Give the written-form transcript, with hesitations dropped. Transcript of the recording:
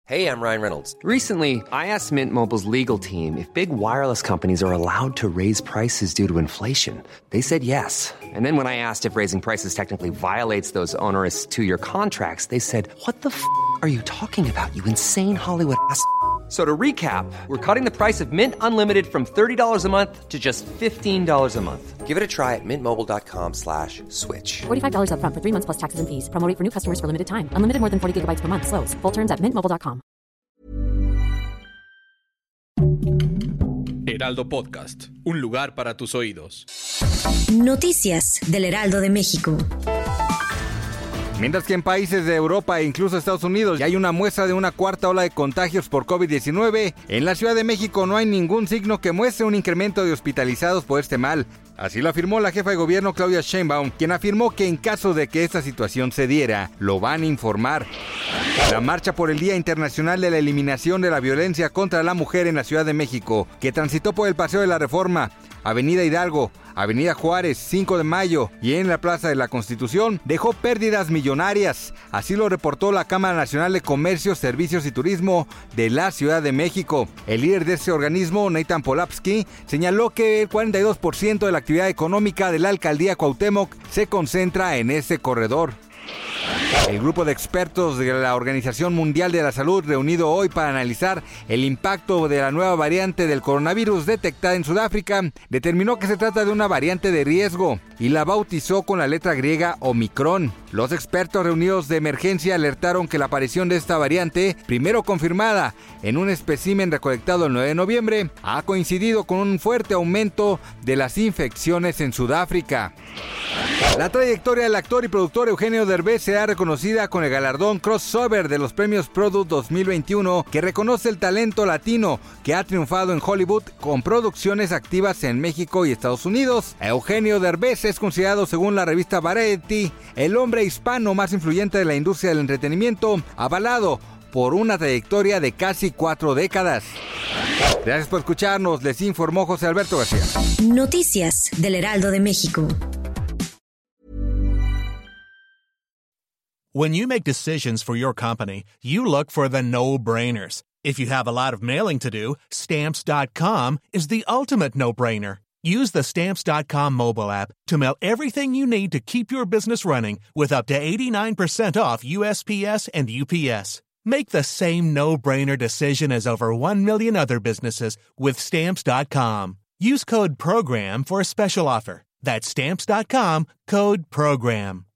Hey, I'm Ryan Reynolds. Recently, I asked Mint Mobile's legal team if big wireless companies are allowed to raise prices due to inflation. They said yes. And then when I asked if raising prices technically violates those onerous two-year contracts, they said, "What the f*** are you talking about, you insane Hollywood ass?" So to recap, we're cutting the price of Mint Unlimited from $30 a month to just $15 a month. Give it a try at mintmobile.com/switch. $45 up front for 3 months plus taxes and fees. Promo rate for new customers for limited time. Unlimited more than 40 gigabytes per month. Slows full terms at mintmobile.com. Heraldo Podcast, un lugar para tus oídos. Noticias del Heraldo de México. Mientras que en países de Europa e incluso Estados Unidos ya hay una muestra de una cuarta ola de contagios por COVID-19, en la Ciudad de México no hay ningún signo que muestre un incremento de hospitalizados por este mal. Así lo afirmó la jefa de gobierno Claudia Sheinbaum, quien afirmó que en caso de que esta situación se diera, lo van a informar. La marcha por el Día Internacional de la Eliminación de la Violencia contra la Mujer en la Ciudad de México, que transitó por el Paseo de la Reforma, Avenida Hidalgo, Avenida Juárez, 5 de Mayo y en la Plaza de la Constitución, dejó pérdidas millonarias. Así lo reportó la Cámara Nacional de Comercio, Servicios y Turismo de la Ciudad de México. El líder de este organismo, Nathan Polapsky, señaló que el 42% de la actividad económica de la alcaldía Cuauhtémoc se concentra en ese corredor. El grupo de expertos de la Organización Mundial de la Salud, reunido hoy para analizar el impacto de la nueva variante del coronavirus detectada en Sudáfrica, determinó que se trata de una variante de riesgo y la bautizó con la letra griega Omicron. Los expertos reunidos de emergencia alertaron que la aparición de esta variante, primero confirmada en un espécimen recolectado el 9 de noviembre, ha coincidido con un fuerte aumento de las infecciones en Sudáfrica. La trayectoria del actor y productor Eugenio Derbez será reconocida con el galardón Crossover de los premios Product 2021, que reconoce el talento latino que ha triunfado en Hollywood con producciones activas en México y Estados Unidos. Eugenio Derbez es considerado, según la revista Variety, el hombre hispano más influyente de la industria del entretenimiento, avalado por una trayectoria de casi 4 décadas. Gracias por escucharnos, les informó José Alberto García. Noticias del Heraldo de México. When you make decisions for your company, you look for the no-brainers. If you have a lot of mailing to do, Stamps.com is the ultimate no-brainer. Use the Stamps.com mobile app to mail everything you need to keep your business running with up to 89% off USPS and UPS. Make the same no-brainer decision as over 1 million other businesses with Stamps.com. Use code PROGRAM for a special offer. That's Stamps.com, code PROGRAM.